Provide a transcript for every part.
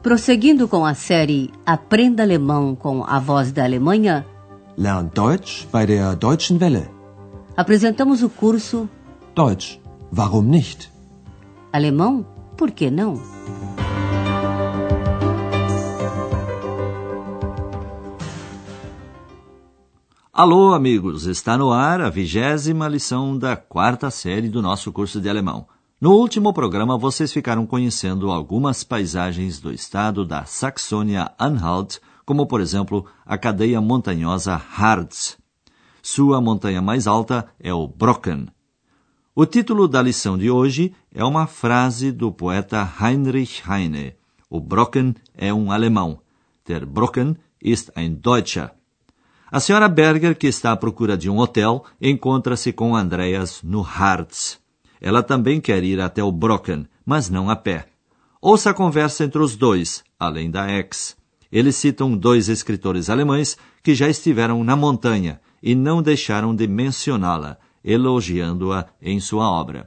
Prosseguindo com a série Aprenda Alemão com a Voz da Alemanha, Lern Deutsch bei der Deutschen Welle. Apresentamos o curso Deutsch, warum nicht? Alemão, por que não? Alô, amigos! Está no ar a 20ª lição da 4ª série do nosso curso de alemão. No último programa, vocês ficaram conhecendo algumas paisagens do estado da Saxônia-Anhalt, como, por exemplo, a cadeia montanhosa Harz. Sua montanha mais alta é o Brocken. O título da lição de hoje é uma frase do poeta Heinrich Heine. O Brocken é um alemão. Der Brocken ist ein Deutscher. A senhora Berger, que está à procura de um hotel, encontra-se com Andreas no Harz. Ela também quer ir até o Brocken, mas não a pé. Ouça a conversa entre os dois, além da ex. Eles citam 2 escritores alemães que já estiveram na montanha e não deixaram de mencioná-la, elogiando-a em sua obra.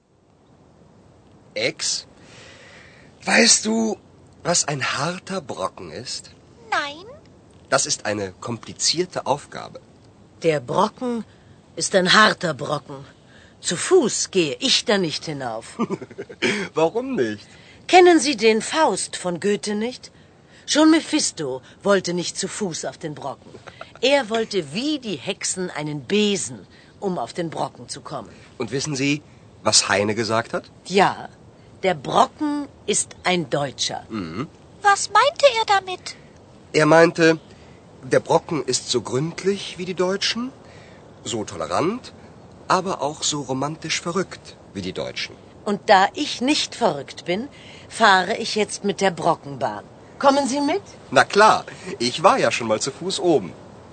Ex, weißt du, was ein harter Brocken ist? Nein. Das ist eine komplizierte Aufgabe. Der Brocken ist ein harter Brocken. Zu Fuß gehe ich da nicht hinauf. Warum nicht? Kennen Sie den Faust von Goethe nicht? Schon Mephisto wollte nicht zu Fuß auf den Brocken. Er wollte wie die Hexen einen Besen, um auf den Brocken zu kommen. Und wissen Sie, was Heine gesagt hat? Ja, der Brocken ist ein Deutscher. Mhm. Was meinte er damit? Er meinte, der Brocken ist so gründlich wie die Deutschen, so tolerant, aber auch so romantisch verrückt wie die Deutschen. Und da ich nicht verrückt bin, fahre ich jetzt mit der Brockenbahn. Kommen Sie mit? Na klar, ich war ja schon mal zu Fuß oben.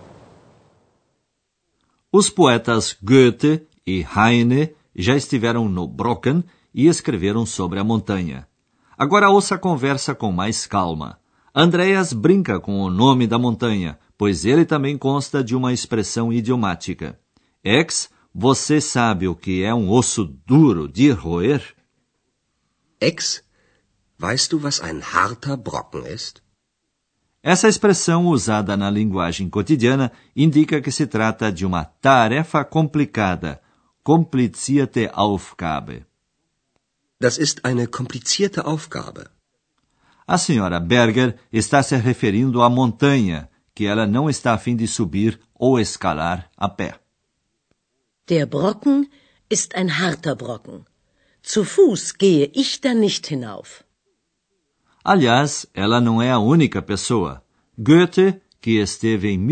Os poetas Goethe e Heine já estiveram no Brocken e escreveram sobre a montanha. Agora ouça a conversa com mais calma. Andreas brinca com o nome da montanha, pois ele também consta de uma expressão idiomática. Ex, você sabe o que é um osso duro de roer? Ex, weißt du, was ein harter Brocken ist? Essa expressão, usada na linguagem cotidiana, indica que se trata de uma tarefa complicada, komplizierte Aufgabe. Das ist eine komplizierte Aufgabe. A senhora Berger está se referindo à montanha, que ela não está a fim de subir ou escalar a pé. Der Brocken ist ein harter Brocken. Zu Fuß gehe ich da nicht hinauf. Aliás, ela não é a única pessoa. Goethe, que esteve em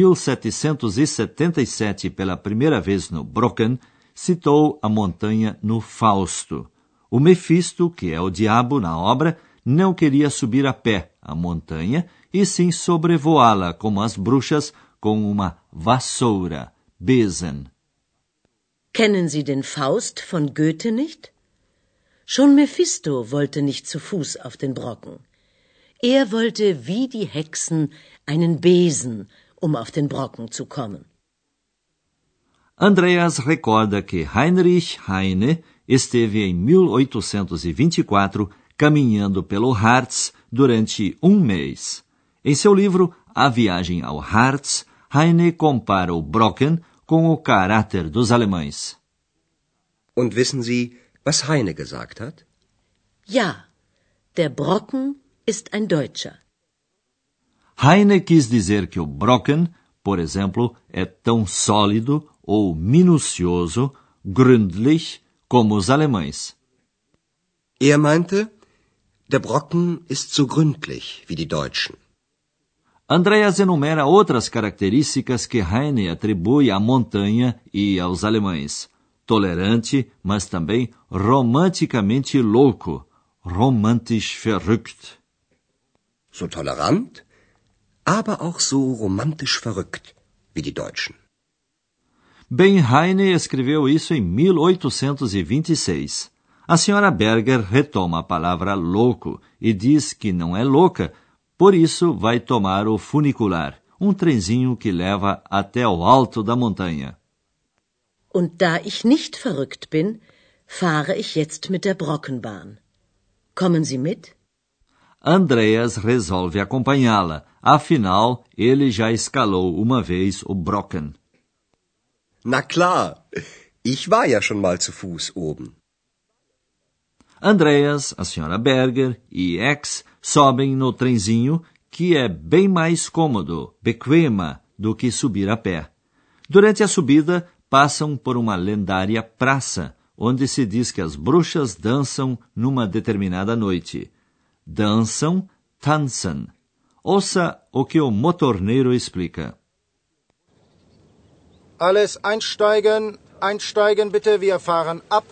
1777 pela primeira vez no Brocken, citou a montanha no Fausto. O Mefisto, que é o diabo na obra, não queria subir a pé a montanha, e sim sobrevoá-la como as bruxas com uma vassoura, Besen. Kennen Sie den Faust von Goethe nicht? Schon Mephisto wollte nicht zu Fuß auf den Brocken. Er wollte wie die Hexen einen Besen, um auf den Brocken zu kommen. Andreas recorda que Heinrich Heine esteve em 1824 caminhando pelo Harz durante um mês. Em seu livro A Viagem ao Harz, Heine compara o Brocken com o caráter dos alemães. Und wissen Sie, was Heine gesagt hat? Ja, der Brocken ist ein Deutscher. Heine quis dizer que o Brocken, por exemplo, é tão sólido ou minucioso, gründlich, como os alemães. Er meinte, der Brocken ist so gründlich wie die Deutschen. Andreas enumera outras características que Heine atribui à montanha e aos alemães. Tolerante, mas também romanticamente louco, romantisch verrückt. So tolerant, aber auch so romantisch verrückt wie die Deutschen. Bem, Heine escreveu isso em 1826. A senhora Berger retoma a palavra louco e diz que não é louca, por isso vai tomar o funicular, um trenzinho que leva até o alto da montanha. Und da ich nicht verrückt bin, fahre ich jetzt mit der Brockenbahn. Kommen Sie mit? Andreas resolve acompanhá-la. Afinal, ele já escalou uma vez o Brocken. Na klar, ich war ja schon mal zu Fuß oben. Andreas, a senhora Berger e X sobem no trenzinho, que é bem mais cômodo, bequema, do que subir a pé. Durante a subida, passam por uma lendária praça, onde se diz que as bruxas dançam numa determinada noite. Dançam, tanzen. Ouça o que o motorneiro explica. Alles einsteigen, einsteigen bitte, wir fahren ab.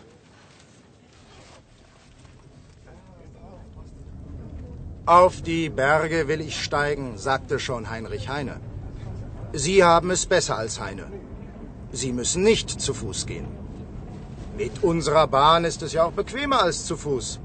Auf die Berge will ich steigen, sagte schon Heinrich Heine. Sie haben es besser als Heine. Sie müssen nicht zu Fuß gehen. Mit unserer Bahn ist es ja auch bequemer als zu Fuß.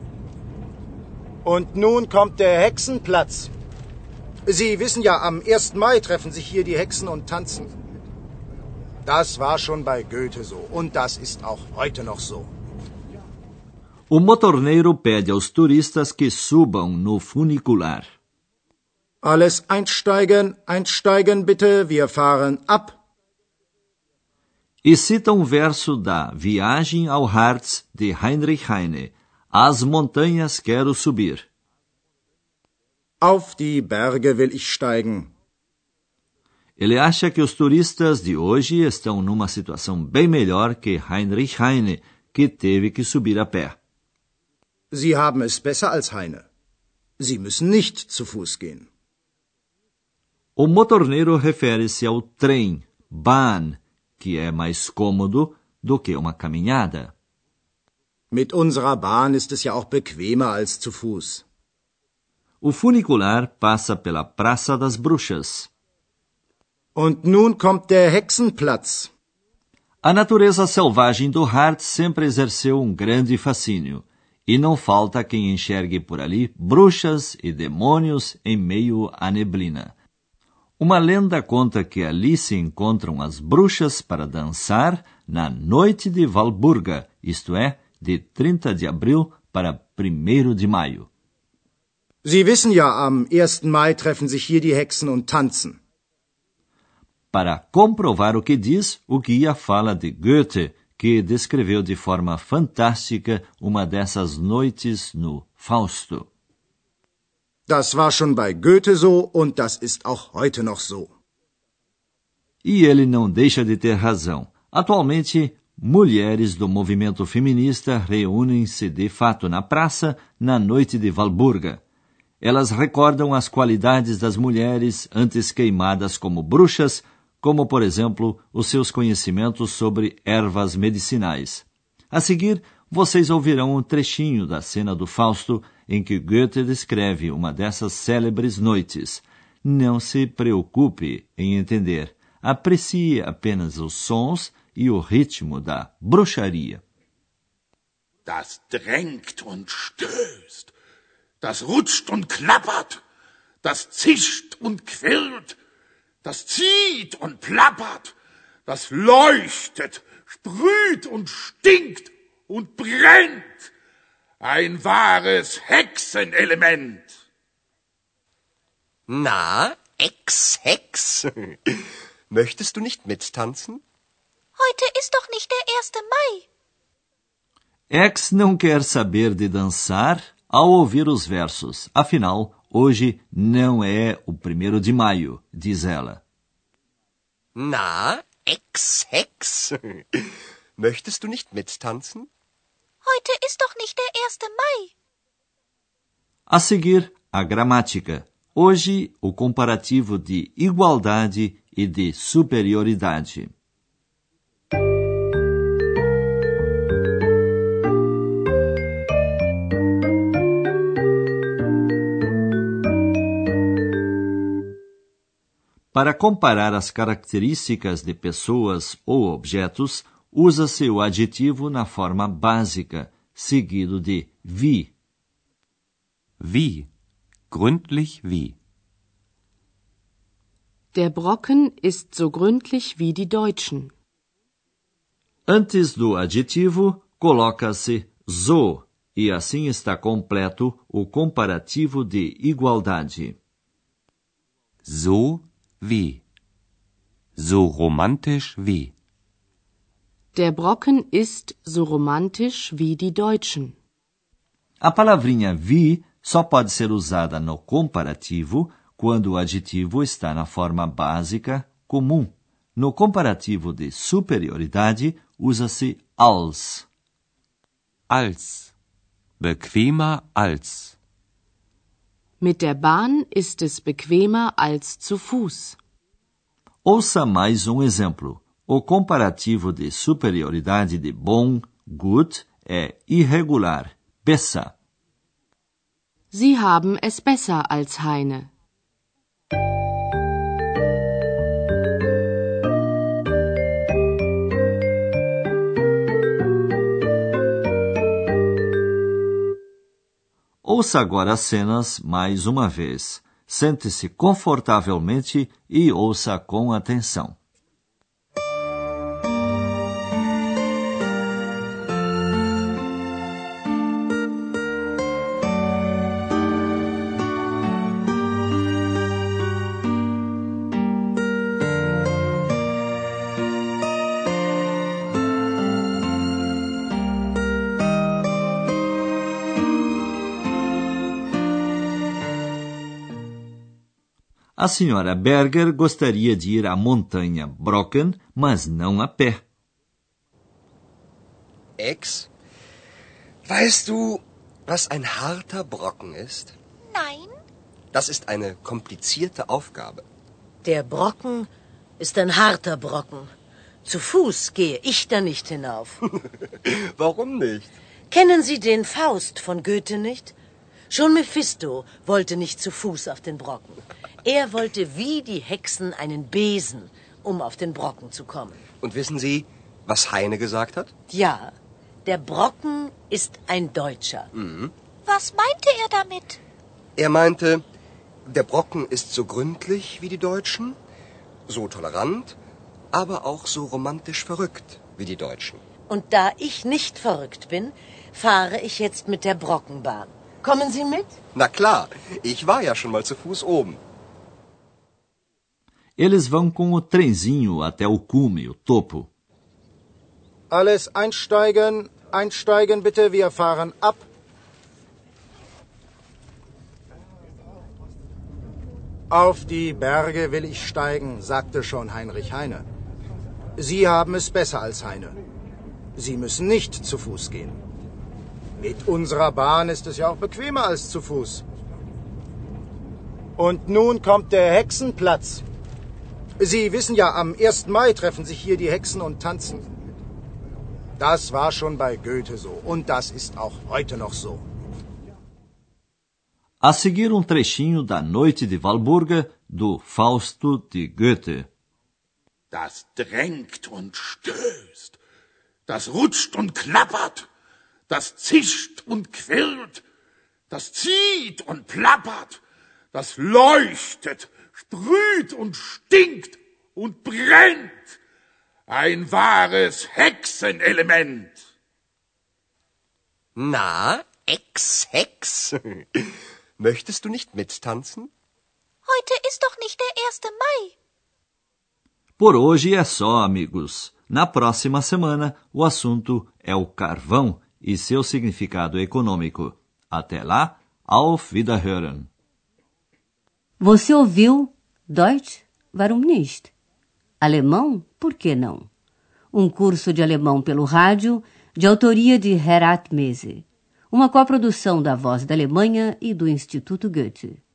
Und nun kommt der Hexenplatz. Sie wissen ja, am 1. Mai treffen sich hier die Hexen und tanzen. Das war schon bei Goethe so und das ist auch heute noch so. O motorneiro pede aos turistas que subam no funicular. Alles einsteigen, einsteigen bitte, wir fahren ab. E cita um verso da Viagem ao Harz de Heinrich Heine. As montanhas quero subir. Auf die Berge will ich steigen. Ele acha que os turistas de hoje estão numa situação bem melhor que Heinrich Heine, que teve que subir a pé. Sie haben es besser als Heine. Sie müssen nicht zu Fuß gehen. O motorneiro refere-se ao trem, Bahn, que é mais cômodo do que uma caminhada. Mit unserer Bahn ist es ja auch bequemer als zu Fuß. O funicular passa pela Praça das Bruxas. Und nun kommt der Hexenplatz. A natureza selvagem do Harz sempre exerceu um grande fascínio, e não falta quem enxergue por ali bruxas e demônios em meio à neblina. Uma lenda conta que ali se encontram as bruxas para dançar na noite de Walburga, isto é, de 30 de abril para 1º de maio. Sie wissen ja, am 1. Mai treffen sich hier die Hexen und tanzen. Para comprovar o que diz, o guia fala de Goethe, que descreveu de forma fantástica uma dessas noites no Fausto. Das war schon bei Goethe so und das ist auch heute noch so. E ele não deixa de ter razão. Atualmente, mulheres do movimento feminista reúnem-se de fato na praça na noite de Walburga. Elas recordam as qualidades das mulheres antes queimadas como bruxas, como, por exemplo, os seus conhecimentos sobre ervas medicinais. A seguir, vocês ouvirão um trechinho da cena do Fausto em que Goethe descreve uma dessas célebres noites. Não se preocupe em entender. Aprecie apenas os sons e o ritmo da bruxaria. Das drängt und stößt, das rutscht und klappert, das zischt und quirlt, das zieht und plappert, das leuchtet, sprüht und stinkt und brennt. Ein wahres Hexenelement. Na, Ex-Hex, möchtest du nicht mittanzen? Heute ist doch nicht der 1. Mai. X não quer saber de dançar ao ouvir os versos. Afinal, hoje não é o 1º de maio, diz ela. Na, Ex-Hex, möchtest du nicht mittanzen? Heute ist doch nicht der 1. Mai. A seguir, a gramática. Hoje, o comparativo de igualdade e de superioridade. Para comparar as características de pessoas ou objetos, usa-se o adjetivo na forma básica, seguido de wie. Wie. Gründlich wie. Der Brocken ist so gründlich wie die Deutschen. Antes do adjetivo, coloca-se so E assim está completo o comparativo de igualdade. So wie. So romantisch wie. Der Brocken ist so romantisch wie die Deutschen. A palavrinha wie só pode ser usada no comparativo quando o adjetivo está na forma básica comum. No comparativo de superioridade, usa-se als. Als. Bequemer als. Mit der Bahn ist es bequemer als zu Fuß. Ouça mais um exemplo. O comparativo de superioridade de bom, gut, é irregular, besser. Sie haben es besser als Heine. Ouça agora as cenas mais uma vez. Sente-se confortavelmente e ouça com atenção. A senhora Berger gostaria de ir à montanha Brocken, mas não a pé. Ex, weißt du, was ein harter Brocken ist? Nein, Das ist eine komplizierte Aufgabe. Der Brocken ist ein harter Brocken. Zu Fuß gehe ich da nicht hinauf. Warum nicht? Kennen Sie den Faust von Goethe nicht? Schon Mephisto wollte nicht zu Fuß auf den Brocken. Er wollte wie die Hexen einen Besen, um auf den Brocken zu kommen. Und wissen Sie, was Heine gesagt hat? Ja, der Brocken ist ein Deutscher. was meinte er damit? Er meinte, der Brocken ist so gründlich wie die Deutschen, so tolerant, aber auch so romantisch verrückt wie die Deutschen. Und da ich nicht verrückt bin, fahre ich jetzt mit der Brockenbahn. Kommen Sie mit? Na klar, ich war ja schon mal zu Fuß oben. Eles vão com o trenzinho até o cume, o topo. Alles einsteigen, einsteigen bitte, wir fahren ab. Auf die Berge will ich steigen, sagte schon Heinrich Heine. Sie haben es besser als Heine. Sie müssen nicht zu Fuß gehen. Mit unserer Bahn ist es ja auch bequemer als zu Fuß. Und nun kommt der Hexenplatz. Sie wissen ja, am 1. Mai treffen sich hier die Hexen und tanzen. Das war schon bei Goethe so und das ist auch heute noch so. A seguir trechinho da Noite de Walburga, do Fausto de Goethe. Das drängt und stößt, das rutscht und klappert, das zischt und quirlt, das zieht und plappert, das leuchtet, sprüht und stinkt und brennt. Ein wahres Hexenelement. Na, Ex-Hex, möchtest du nicht mittanzen? Heute ist doch nicht der 1. Mai. Por hoje é só, amigos. Na próxima semana, o assunto é o carvão e seu significado econômico. Até lá, auf Wiederhören. Você ouviu Deutsch? Warum nicht? Alemão? Por que não? Um curso de alemão pelo rádio, de autoria de Herat Mese. Uma coprodução da Voz da Alemanha e do Instituto Goethe.